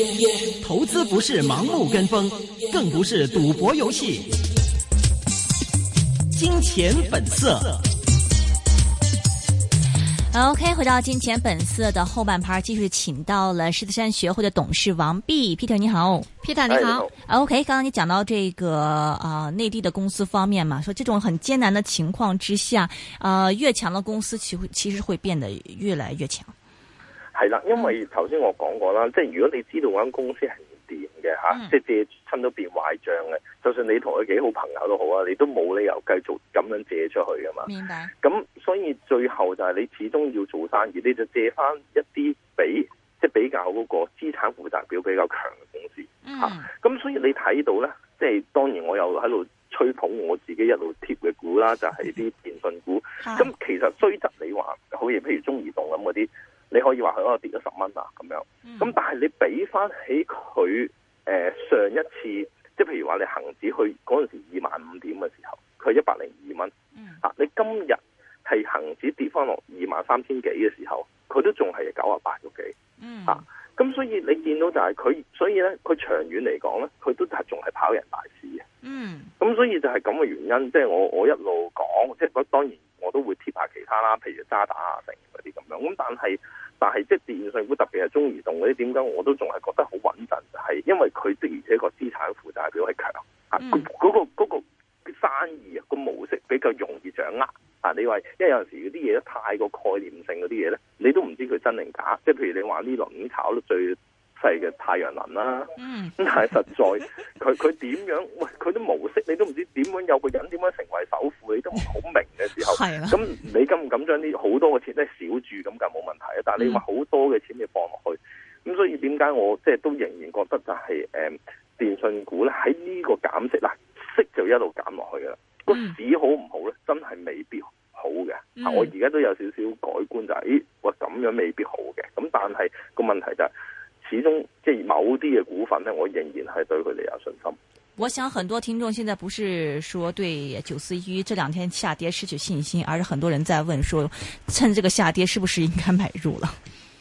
投資不是盲目跟風，更不是賭博遊戲。金錢本色。 OK， 回到金錢本色的後半盤，繼續請到了獅子山學會的董事王弼 Peter， 你好 ，Peter 你好。OK， 剛剛你講到這個內地的公司方面嘛，說這種很艱難的情況之下，越強的公司其實會變得越來越強。 係啦，因為頭先我講過啦，即係如果你知道嗰間公司係唔掂嘅吓，即係借親都變壞賬嘅，就算你同佢幾好朋友都好啊，你都冇理由繼續咁樣借出去噶嘛。 明白。咁所以最後就係你始終要做生意，你就借翻一啲比較嗰個資產負債表比較強嘅公司吓。咁所以你睇到咧，即係當然我又喺度吹捧我自己一路貼嘅股啦，就係啲電信股。咁其實雖則你話好似譬如中移動咁嗰啲。你可以話佢可能跌咗10蚊啊咁樣，咁但係你比翻起佢上一次，即係譬如話你恒指去嗰陣時25,000點嘅時候，佢102蚊，你今日係恒指跌翻落23,000幾嘅時候，佢都仲係98個幾，咁所以你見到就係佢，所以咧佢長遠嚟講咧，佢都係仲係跑贏大市嘅，咁所以就係咁嘅原因，即係我一路講，即係當然我都會貼下其他啦，譬如渣打啊成嗰啲咁樣，咁但係即係電信股特別係中移動嗰啲，點解我都仲係覺得好穩陣？就係因為佢的而且個資產負債表係強，嗰個生意啊個模式比較容易掌握啊！你話因為有陣時嗰啲嘢太過概念性嗰啲嘢咧，你都唔知佢真定假。即係譬如你話呢輪已經炒得最細嘅太陽能啦，咁但係實在佢點樣？喂，佢啲模式你都唔知點樣，有個人點樣成為首富，你都唔好明嘅時候，咁你敢唔敢將啲好多嘅錢咧少注咁就冇問題啊？但係你話好多嘅錢你放落去，咁所以點解我即係都仍然覺得就係電信股咧喺呢個減息啦，息就一路減落去噶啦。個市好唔好咧？真係未必好嘅。我而家都有少少改觀就係，喂咁樣未必好嘅。咁但係個問題就係。始終即係某啲嘅股份呢，我仍然係對佢哋有信心。 我想很多聽眾現在不是說對941這兩天下跌失去信心，而是很多人在問說，趁這個下跌是不是應該買入了？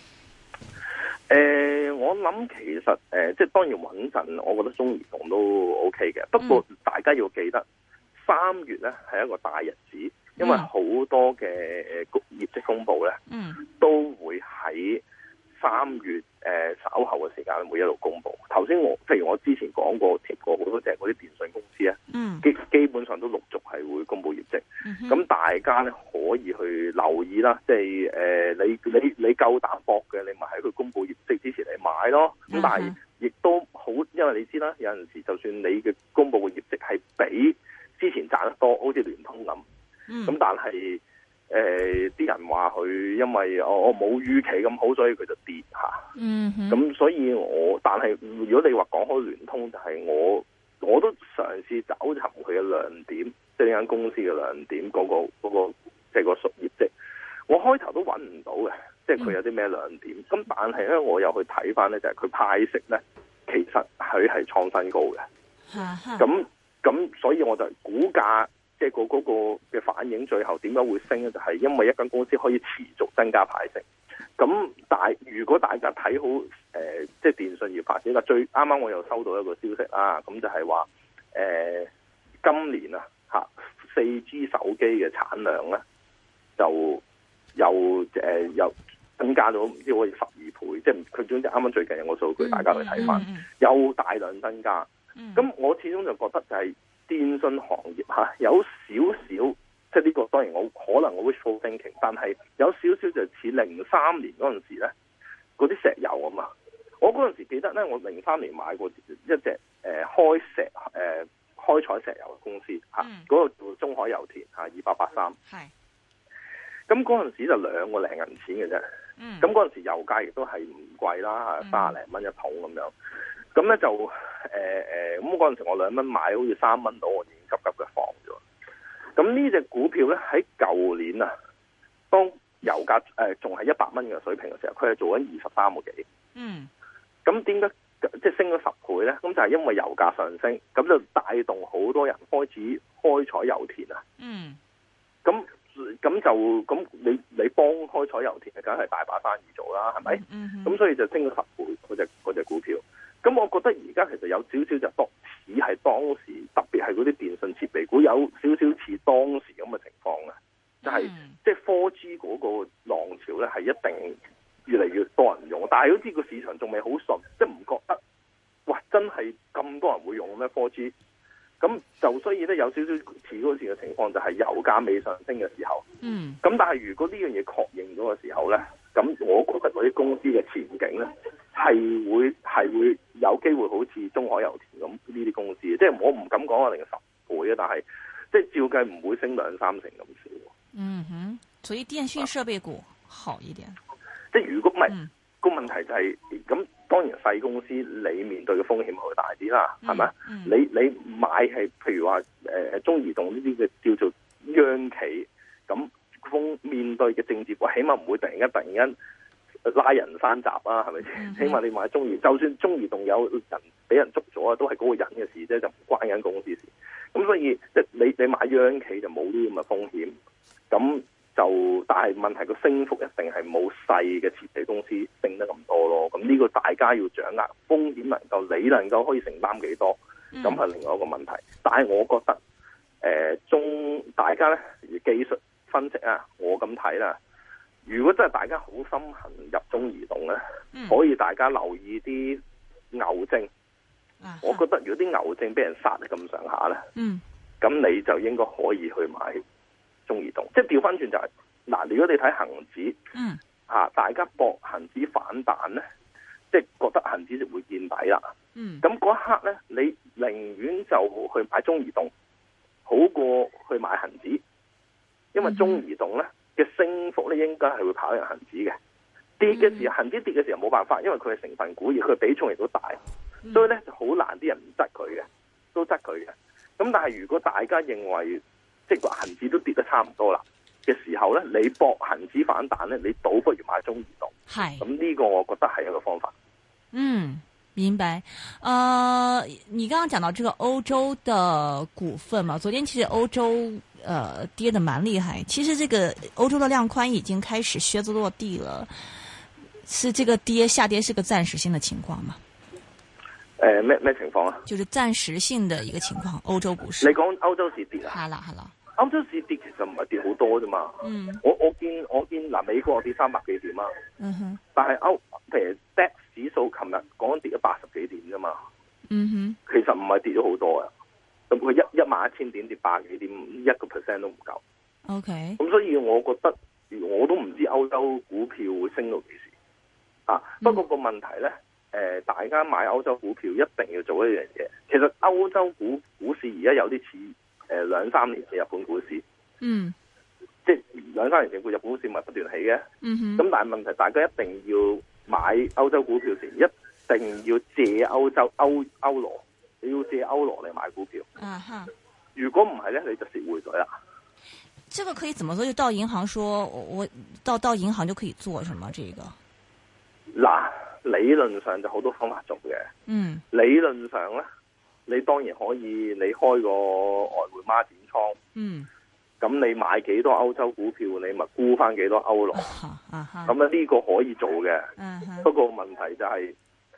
我諗其實即係當然穩陣，我覺得中移動都 OK 嘅。不過大家要記得，3月呢係一個大日子，因為好多嘅業績公布呢，都會喺3月稍後嘅時間會一路公布。頭先譬如我之前講過貼過好多隻嗰啲電信公司咧，基本上都陸續係會公布業績。咁大家咧可以去留意啦，即係你夠膽搏嘅，你咪喺佢公布業績之前嚟買咯。咁但係亦都好，因為你知啦，有陣時就算你嘅公布嘅業績係比之前賺得多，好似聯通咁，咁但係啲人話佢因為我冇預期咁好，所以佢就跌吓。咁所以但係如果你話講開聯通，就係我都嘗試找尋佢嘅亮點，即係呢間公司嘅亮點，嗰個即係個業績。我開頭都揾唔到嘅，即係佢有啲咩亮點。咁但係咧，我又去睇翻咧，就係佢派息咧，其實佢係創新高嘅。咁所以我就股價。即係嗰個嘅反應，最後點解會升咧？就係因為一間公司可以持續增加派息。咁如果大家睇好即係電信業發展，最啱啱我又收到一個消息啦，咁就係話今年啊4G 手機嘅產量咧就又增加咗唔知好似12倍，即係佢總之啱啱最近有個數據，大家去睇翻，又大量增加。咁我始終就覺得就係。電信行業有少少，即係呢個當然我可能我 wishful thinking， 但係有少少就似03年嗰陣時咧，嗰啲石油啊嘛。我嗰陣時記得咧，我03年買過一隻開採石油嘅公司嗰個叫中海油田2883。係。咁嗰陣時就2個零銀錢嘅啫。咁嗰陣時油價亦都係唔貴啦，30零蚊一桶咁樣。咁咧就咁嗰陣時我2蚊買，好似3蚊到，我已經急嘅放咗。咁呢隻股票咧喺舊年啊，當油價仲係100蚊嘅水平嘅時候，佢係做緊23個幾。咁點解即係升咗10倍咧？咁就係因為油價上升，咁就帶動好多人開始開採油田啊。咁你幫開採油田，梗係大把生意做啦，係咪？咁所以就升咗10倍嗰隻股票。 而家其實有少少就似係當時，特別係嗰啲電信設備股有少少似當時咁嘅情況嘅，就係即係 4G 嗰個浪潮咧係一定越嚟越多人用，但係好似個市場仲未好順，即係唔覺得哇真係咁多人會用咩 4G。咁就所以咧有少少似嗰時嘅情況，就係油價未上升嘅時候。咁但係如果呢樣嘢確認咗嘅時候咧，咁我覺得嗰啲公司嘅前景咧係會有機會好似中海油田咁呢啲公司，即係我唔敢講話定10倍啊，但係即係照計唔會升2-3成咁少。 所以電訊設備股好一點。 即係如果唔係個問題就係咁。當然細公司你面對嘅風險會大啲啦，係咪？你買係譬如話中移動呢啲嘅叫做央企，咁面對嘅政治，起碼唔會突然間拉人山閘啊，係咪先？起碼你買中移，就算中移動有人俾人捉咗啊，都係嗰個人嘅事啫，就唔關間公司事。咁所以即係你買央企就冇呢啲咁嘅風險，咁。但係問題個升幅一定係冇細嘅設備公司升得咁多咯，咁呢個大家要掌握風險，你能夠可以承擔幾多，咁係另外一個問題。但係我覺得大家咧技術分析啊，我咁睇啦，如果真係大家好心痕入中移動咧，可以大家留意啲牛證。我覺得如果啲牛證俾人殺得咁上下咧，咁你就應該可以去買中移動。即係調翻轉就係嗱，如果你睇恒指，大家搏恒指反彈咧，即係覺得恒指就會見底啦。咁嗰一刻咧，你寧願就去買中移動，好過去買恒指，因為中移動咧嘅升幅咧應該係會跑贏恒指嘅。跌嘅時候，恒指跌嘅時候冇辦法，因為佢係成分股，而佢比重亦都大，所以咧就好難啲人唔質佢嘅，都質佢嘅。咁但係如果大家認為即係話恒指都跌得差唔多啦嘅時候咧，你搏恒指反彈咧，你倒不如買中移動。係咁呢個，我覺得係一個方法。 明白。你剛剛講到這個歐洲的股份嘛，昨天其實歐洲跌得蠻厲害。其實這個歐洲的量寬已經開始靴子落地了，是這個下跌是個暫時性的情況嗎？ 咩情況啊？就是暫時性的一個情況，歐洲股市。 你講歐洲市跌啊？係啦。歐洲市跌其實唔係跌好多啫嘛。我見嗱，美國跌300幾點啊。但係譬如 DAX 指數琴日講緊跌咗80幾點啫嘛。其實唔係跌咗好多啊。咁佢11000點跌80幾點，1% 都唔夠。 OK。 咁所以我覺得我都唔知歐洲股票會升到幾時啊。不過個問題咧。大家買歐洲股票一定要做一樣嘢。其實歐洲股市而家有啲似2-3年嘅日本股市。即係2-3年前日本股市咪不斷起嘅。咁但係問題，大家一定要買歐洲股票時，一定要借歐羅，你要借歐羅嚟買股票。如果唔係咧，你就蝕匯水啦。 這個可以怎麼做？就到銀行說，我到銀行就可以做什麼？這個嗱。理論上就好多方法做嘅。理論上咧，你當然可以你開個外匯孖展倉。咁你買幾多歐洲股票，你咪沽翻幾多歐羅。咁咧呢個可以做嘅。不過問題就係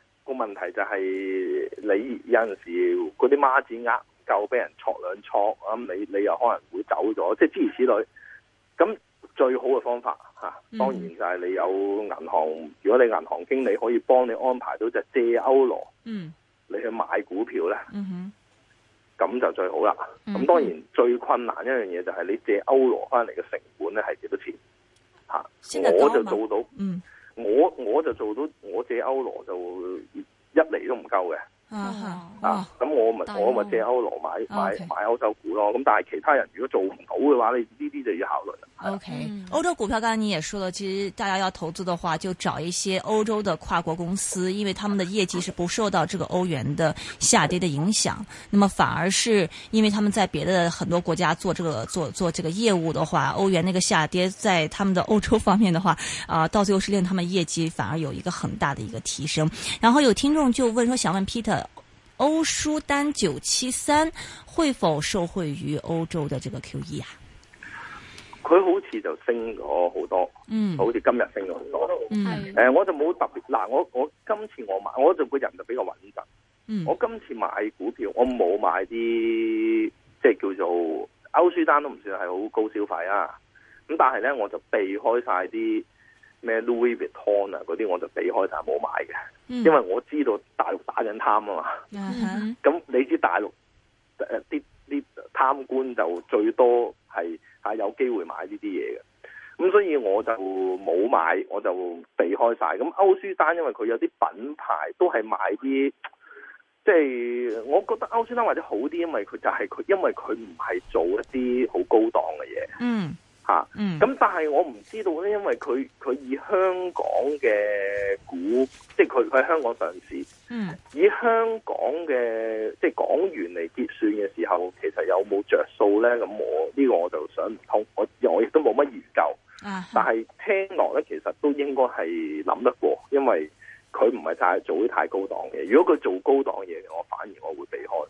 你有陣時嗰啲孖展額夠俾人戳兩戳，咁你又可能會走咗，即係諸如此類。咁最好嘅方法當然就係你有銀行，如果你銀行經理可以幫你安排到就借歐羅，你去買股票咧，咁就最好啦。咁當然最困難一樣嘢就係你借歐羅翻嚟嘅成本咧係幾多錢？我就做到，我就做到，我借歐羅就1厘都唔夠嘅。咁我咪借歐羅買歐洲股咯。咁但係其他人如果做唔到嘅話，你呢啲就要考慮啦。 OK，歐洲股票，剛才你也說了，其實大家要投資的話，就找一些歐洲的跨國公司，因為他們的業績是不受到這個歐元的下跌的影響。那麼反而是因為他們在別的很多國家做這個業務的話，歐元那個下跌，在他們的歐洲方面的話，到最後是令他們業績反而有一個很大的一個提升。然後有聽眾就問說，想問 Peter，歐舒丹973會否受惠於歐洲的這個 QE 啊？ 佢好似就升咗好多，好似今日升咗好多。我就冇特別嗱，我今次我買，我就個人就比較穩陣。 我今次買股票，我冇買啲即係叫做歐舒丹都唔算係好高消費啊。咁但係咧，我就避開晒啲咩 Louis Vuitton 啊嗰啲，我就避開晒冇買嘅，因為我知道大陸打緊貪啊嘛。咁你知大陸啲貪官就最多係有機會買呢啲嘢嘅。咁所以我就冇買，我就避開晒。咁歐舒丹因為佢有啲品牌都係買啲，即係我覺得歐舒丹或者好啲，因為佢唔係做一啲好高檔嘅嘢。咁但係我唔知道咧，因為佢以香港嘅股，即係佢喺香港上市，以香港嘅即係港元嚟結算嘅時候，其實有冇着數咧？咁我就想唔通，我亦都冇乜研究。但係聽落咧，其實都應該係諗得過，因為佢唔係做啲太高檔嘅。如果佢做高檔嘢，我反而我會避開。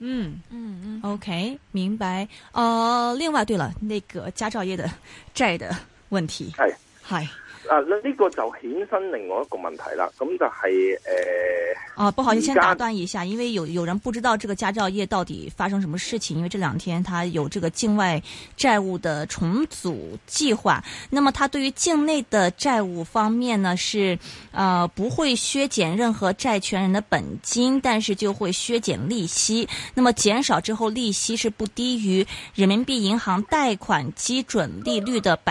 OK， 明白。另外，對了，那個佳兆業的債的問題係呢個就衍生另外一個問題啦。咁就係不好意思，先打斷一下，因為有人不知道這個佳兆業到底發生什麼事情，因為這兩天他有這個境外債務的重組計劃。那麼他對於境內的債務方面呢，是不會削減任何債權人的本金，但是就會削減利息。那麼減少之後，利息是不低於人民幣銀行貸款基準利率的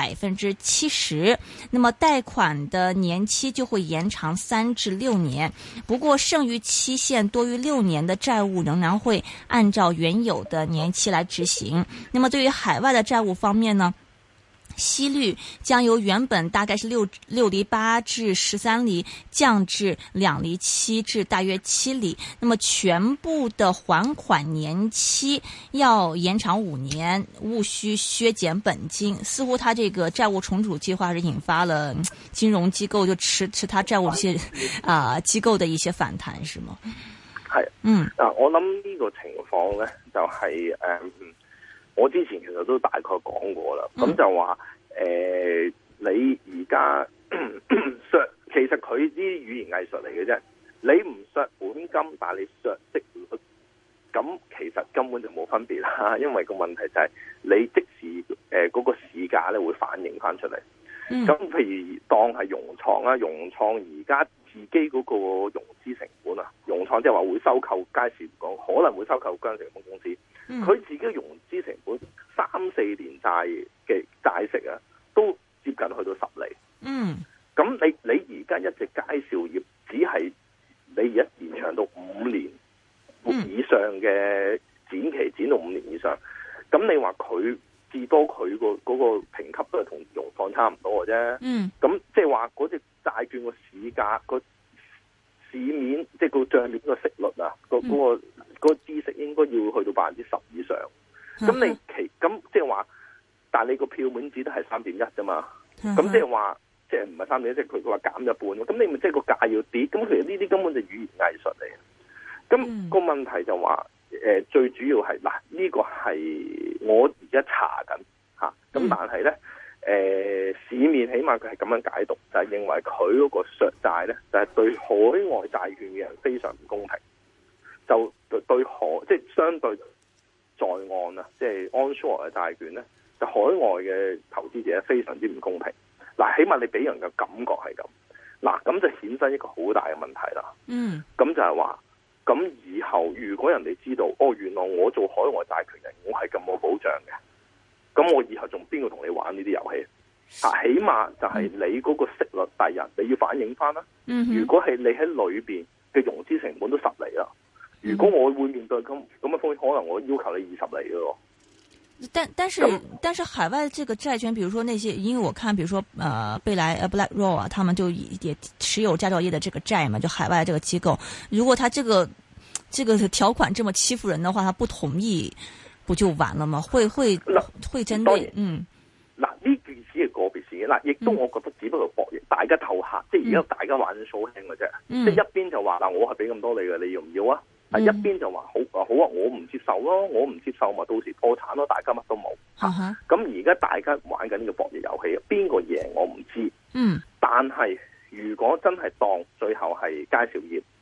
70%。那麼貸款的年期就會延長3至6年，不過剩餘期限多於6年的債務仍然會按照原有的年期來執行。那麼對於海外的債務方面呢，息率將由原本大概是6厘8至13厘降至2厘7至大約7厘。那麼全部的還款年期要延長5年，務需削減本金。似乎他這個債務重組計劃是引發了金融機構就持他債務這些機構的一些反彈，是嗎？ 係，我諗呢個情況呢，就係我之前其實都大概講過啦，咁就話你而家削，其實佢啲語言藝術嚟嘅啫。你唔削本金，但係你削息率，咁其實根本就冇分別啦。因為個問題就係你即時嗰個市價咧會反映翻出嚟。咁譬如當係融創啦，融創而家自己嗰個融資成本啊，融創即係話會收購佳士講，可能會收購江城豐公司。佢自己嘅融資成本3-4年債嘅債息啊，都接近去到10厘。咁你而家一隻佳兆業，只係你而家延長到5年以上嘅展期，展到5年以上。咁你話佢至多佢嗰個評級都係同融創差唔多嘅啫。咁即係話嗰隻債券個市價個市面，即係個帳面個息率啊，個孳息應該要去到10%以上。咁即係話，但係你個票面只得係3.1啫嘛。咁即係話，即係唔係3.1，即係佢話減一半。咁你咪即係個價要跌。咁其實呢啲根本就語言藝術嚟。咁個問題就話，最主要係嗱，呢個係我而家查緊吓。咁但係咧，市面起碼佢係咁樣解讀，就係認為佢嗰個削債咧，就係對海外債券嘅人非常唔公平。就對即係相對在岸啊，即係 onshore 嘅債券咧，就海外嘅投資者非常之唔公平。嗱，起碼你俾人嘅感覺係咁。嗱，咁就衍生一個好大嘅問題啦。咁就係話，咁以後如果人哋知道，原來我做海外債權人，我係咁冇保障嘅，咁我以後仲邊個同你玩呢啲遊戲？起碼就係你嗰個息率第日你要反映翻啦。如果係你喺裏邊嘅融資成本都10厘啦。如果我會面對咁嘅風險，可能我要求你20厘嘅咯。 但是海外這個債券，比如說那些，因為我看，比如說貝萊BlackRock 啊，他們就也持有佳兆業的這個債嘛，就海外這個機構，如果他這個條款這麼欺負人的話，他不同意，不就完了嗎？會針對嗱，呢件事係個別事件，亦都我覺得只不過博弈，大家鬥客，即係而家大家玩數輕嘅啫。即係一邊就話我係俾咁多你嘅，你要唔要啊？一邊就話好啊，我唔接受咯，我唔接受咪到時破產咯，大家乜都冇。咁而家大家玩緊呢個博弈遊戲，邊個贏我唔知。但係如果真係當最後係佳兆業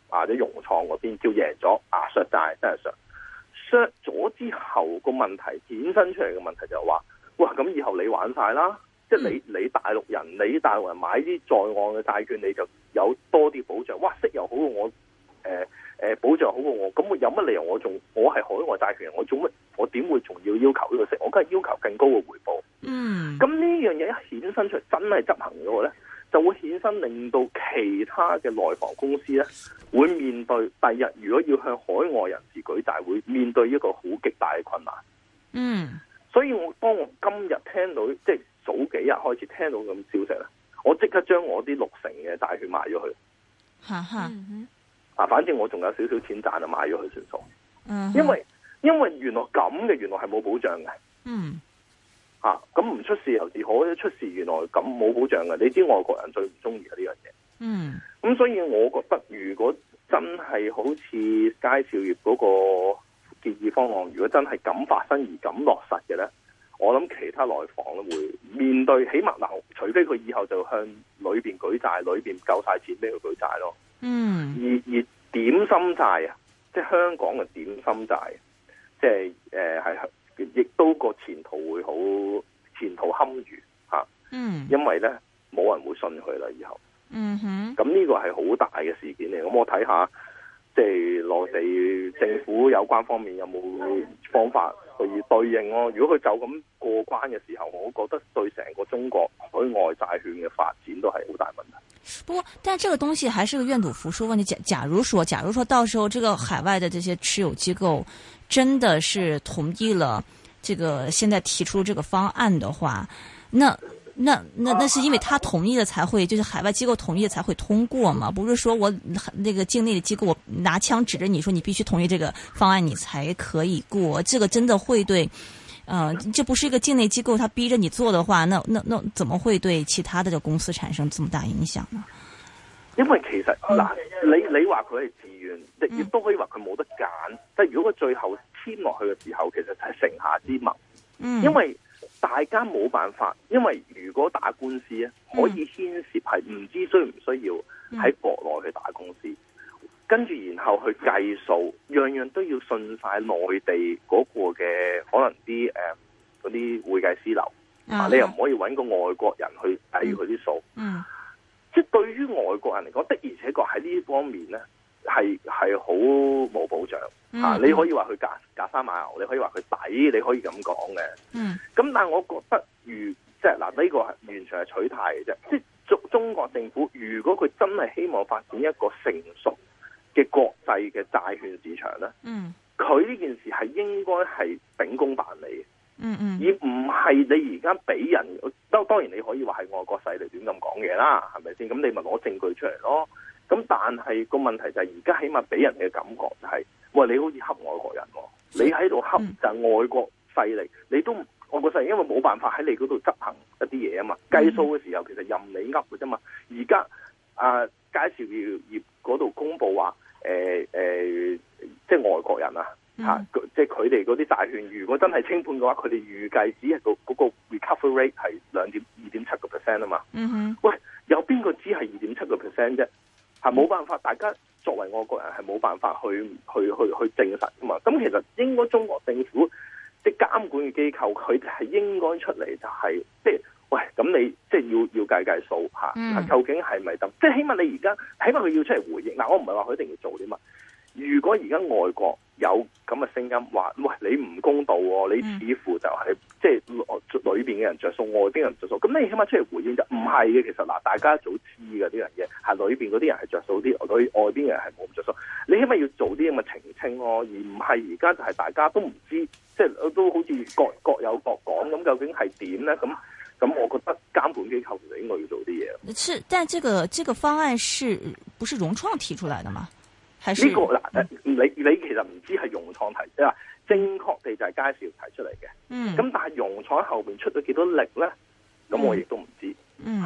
或者融創嗰邊叫贏咗削債，真係削咗之後個問題衍生出嚟嘅問題就係話，哇咁以後你玩晒啦，即係你大陸人買啲在岸嘅債券，你就有多啲保障，哇息又好過我，保障好過我，咁我有乜理由我係海外債權人，我點會仲要求呢個息？我梗係要求更高嘅回報。咁呢樣嘢一衍生出嚟，真係執行咗咧，就會衍生令到其他嘅內房公司咧，會面對第日如果要向海外人士舉債，會面對一個好極大嘅困難。所以當我今日聽到，即係早幾日開始聽到咁消息咧，我即刻將我啲60%嘅債券賣咗去。反正我仲有少少錢賺，就買咗佢算數。因為原來係冇保障嘅。咁唔出事又自可，出事原來咁冇保障嘅。你知外國人最唔中意嘅呢樣嘢。咁所以我覺得，如果真係好似佳兆業嗰個建議方案，如果真係咁發生而咁落實嘅咧，我諗其他內房咧會面對，起碼嗱，除非佢以後就向裏邊舉債，裏邊夠晒錢俾佢舉債咯。而點心債啊，即係香港嘅點心債，即係亦都個前途會好，前途堪虞吓。因為咧冇人會信佢啦，以後。咁呢個係好大嘅事件嚟。咁我睇下，即係內地政府有關方面有冇方法去對應咯。如果佢就咁過關嘅時候，我覺得對成個中國海外債券嘅發展都係好大問題。 不過，但這個東西還是個願賭服輸問題。假如說到時候這個海外的這些持有機構真的是同意了這個現在提出這個方案的話，那是因為他同意了才會，就是海外機構同意了才會通過嘛？不是說我那個境內的機構我拿槍指着你說你必須同意這個方案你才可以過，這個真的會對。這不是一個境內機構，他逼着你做的話，那怎麼會對其他的公司產生這麼大影響呢？ 因為其實嗱，你話佢係自願，亦都可以話佢冇得揀。但係如果佢最後簽落去嘅時候，其實就係城下之盟。因為大家冇辦法，因為如果打官司咧，可以牽涉係唔知需唔需要喺國內去打官司。跟住然後去計數，樣樣都要信晒內地嗰個嘅可能啲嗰啲會計師樓，你又唔可以揾個外國人去計佢啲數。即係對於外國人嚟講，的而且確喺呢方面咧係好冇保障。你可以話佢假山買牛，你可以話佢抵，你可以咁講嘅。咁但係我覺得即係嗱，呢個係完全係取態嘅啫。即係中國政府如果佢真係希望發展一個成熟嘅國際嘅債券市場咧，佢呢件事係應該係秉公辦理嘅，而唔係你而家俾人。當然你可以話係外國勢力亂咁講嘢啦，係咪先？咁你咪攞證據出嚟咯。咁但係個問題就係而家起碼俾人嘅感覺就係，喂，你好似恰外國人，你喺度恰就係外國勢力，你都外國勢力因為冇辦法喺你嗰度執行一啲嘢啊嘛，計數嘅時候其實任你噏嘅啫嘛。而家佳兆業嗰度公布話，即係外國人啊，即係佢哋嗰啲債券，如果真係清盤嘅話，佢哋預計只係嗰個 recovery rate 係2.7% 啊嘛。喂，有邊個知係2.7% 啫？係冇辦法，大家作為外國人係冇辦法去證實噶嘛。咁其實應該中國政府即係監管嘅機構，佢哋係應該出嚟就係即係。喂，咁你即係要計數吓，究竟係咪得？即係起碼你而家，起碼佢要出嚟回應。嗱，我唔係話佢一定要做啲乜。如果而家外國有咁嘅聲音話，喂，你唔公道喎，你似乎就係即係裏邊嘅人着數，外邊人着數。咁你起碼出嚟回應就唔係嘅。其實嗱，大家早知嘅呢樣嘢，係裏邊嗰啲人係着數啲，外邊嘅人係冇咁着數。你起碼要做啲咁嘅澄清咯，而唔係而家就係大家都唔知，即係都好似各有各講咁，究竟係點咧？咁我覺得監管機構就應該要做啲嘢。 是，但這個方案不是融創提出來的嗎？還是呢個嗱？你其實唔知係融創提，即係話正確地就係佳兆業提出嚟嘅。咁但係融創喺後邊出咗幾多力咧？咁我亦都唔知。係啦。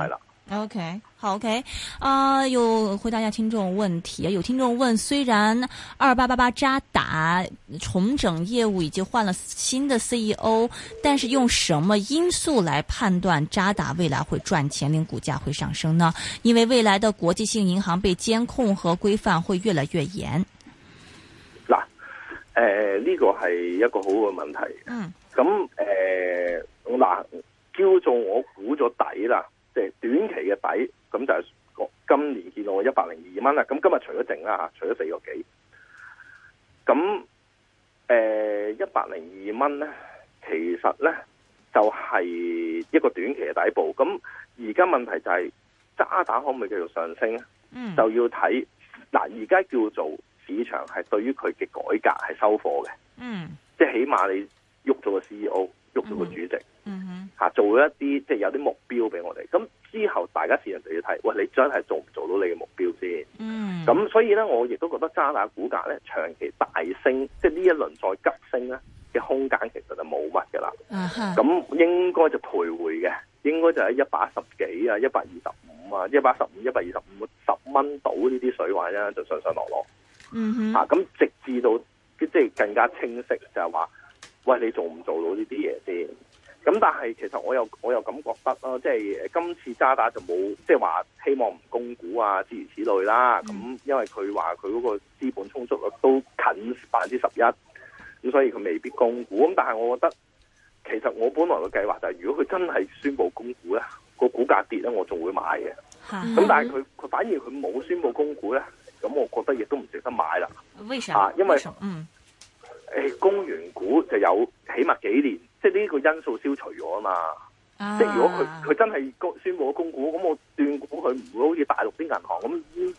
OK， 好 OK， 又回答一下聽眾問題。有聽眾問，雖然2888渣打重整業務已經換了新的 CEO， 但是用什麼因素來判斷渣打未來會賺錢，令股價會上升呢？因為未來的國際性銀行被監控和規範會越來越嚴。 嗱，呢個係一個好嘅問題。咁嗱，叫做我估咗底啦。即係短期嘅底，咁就係今年見到我102蚊啦。咁今日除咗剩啦嚇，除咗4個幾，咁102蚊咧，其實咧就係一個短期嘅底部。咁而家問題就係渣打可唔可以繼續上升咧？就要睇嗱，而家叫做市場係對於佢嘅改革係收貨嘅。即係起碼你喐咗個 CEO， 喐咗個主席。做一啲即係有啲目標俾我哋，咁之後大家市場就要睇，喂，你真係做唔做到你嘅目標先？咁所以咧，我亦都覺得渣打股價咧長期大升，即係呢一輪再急升咧嘅空間其實就冇乜噶啦。咁應該就徘徊嘅，應該就喺110幾啊、125啊、115、125、10蚊到呢啲水位咧，就上上落落。咁直至到即係更加清晰，就係話，喂，你做唔做到呢啲嘢先？咁但係其實我又咁覺得咯，即係今次渣打就冇即係話希望唔供股啊諸如此類啦。咁因為佢話佢嗰個資本充足率都近11%，咁所以佢未必供股。咁但係我覺得其實我本來嘅計劃就係，如果佢真係宣布供股咧，個股價跌咧，我仲會買嘅。咁但係佢反而佢冇宣布供股咧，咁我覺得亦都唔值得買啦。 為啥？ 因為供完股就有起碼幾年，即係呢個因素消除咗啊嘛。即係如果佢真係宣布咗供股，咁我斷估佢唔會好似大陸啲銀行咁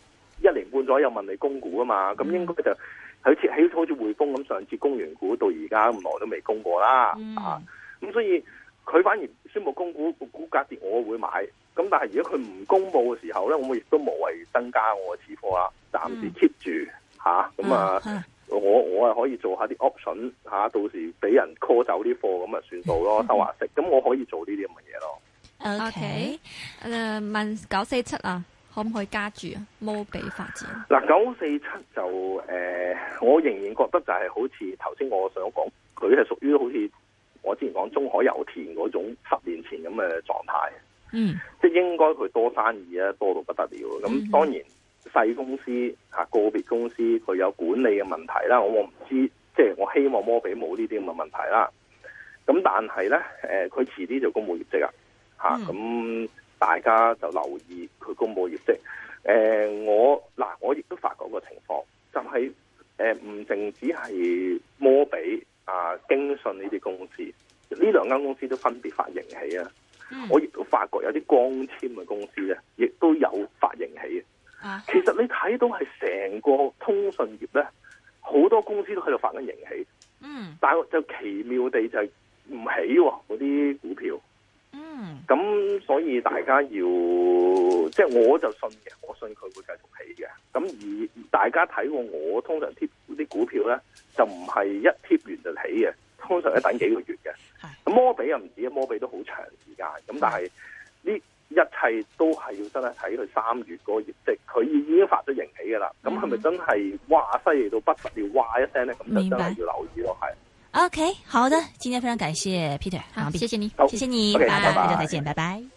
1年半左右問你供股啊嘛。咁應該就好似匯豐咁，上次供完股到而家咁耐都未供過啦。咁所以佢反而宣布供股，個股價跌我會買。咁但係如果佢唔公布嘅時候咧，我亦都無謂增加我嘅持貨啦，暫時 keep 住吓。我係可以做下啲 option 吓，到時俾人 call 走啲貨咁啊算數咯，收下息。咁我可以做呢啲咁嘅嘢咯。 OK，問947啊，可唔可以加注啊？摩比發展嗱，947就我仍然覺得就係好似頭先我想講，佢係屬於好似我之前講中海油田嗰種10年前咁嘅狀態。即係應該佢多生意啊，多到不得了。咁當然。細公司個別公司佢有管理嘅問題啦，我唔知，即係我希望摩比冇呢啲咁嘅問題啦。咁但係咧，佢遲啲就公布業績啊，咁大家就留意佢公布業績。我亦都發覺個情況，就係唔淨止係摩比京信呢啲公司，呢兩間公司都分別發盈喜啊。我亦都發覺有啲光纖嘅公司咧，亦都有發盈喜嘅。其實你睇到係成個通訊業咧，好多公司都喺度發緊盈喜，但係就奇妙地就係唔起嗰啲股票，咁所以大家要即係我就信嘅，我信佢會繼續起嘅。咁而大家睇過我通常貼啲股票咧，就唔係一貼完就起嘅，通常要等幾個月嘅。咁摩比又唔止，摩比都好長時間。咁但係呢？一切都係要真係睇佢3月嗰個業績，佢已經發咗盈喜㗎啦。咁係咪真係哇犀利到不得了，哇一聲咧？咁就真係要留意咯。係。 OK， 好的，今天非常感謝 Peter， 好，謝謝你， 謝謝你，拜拜，再見，拜拜。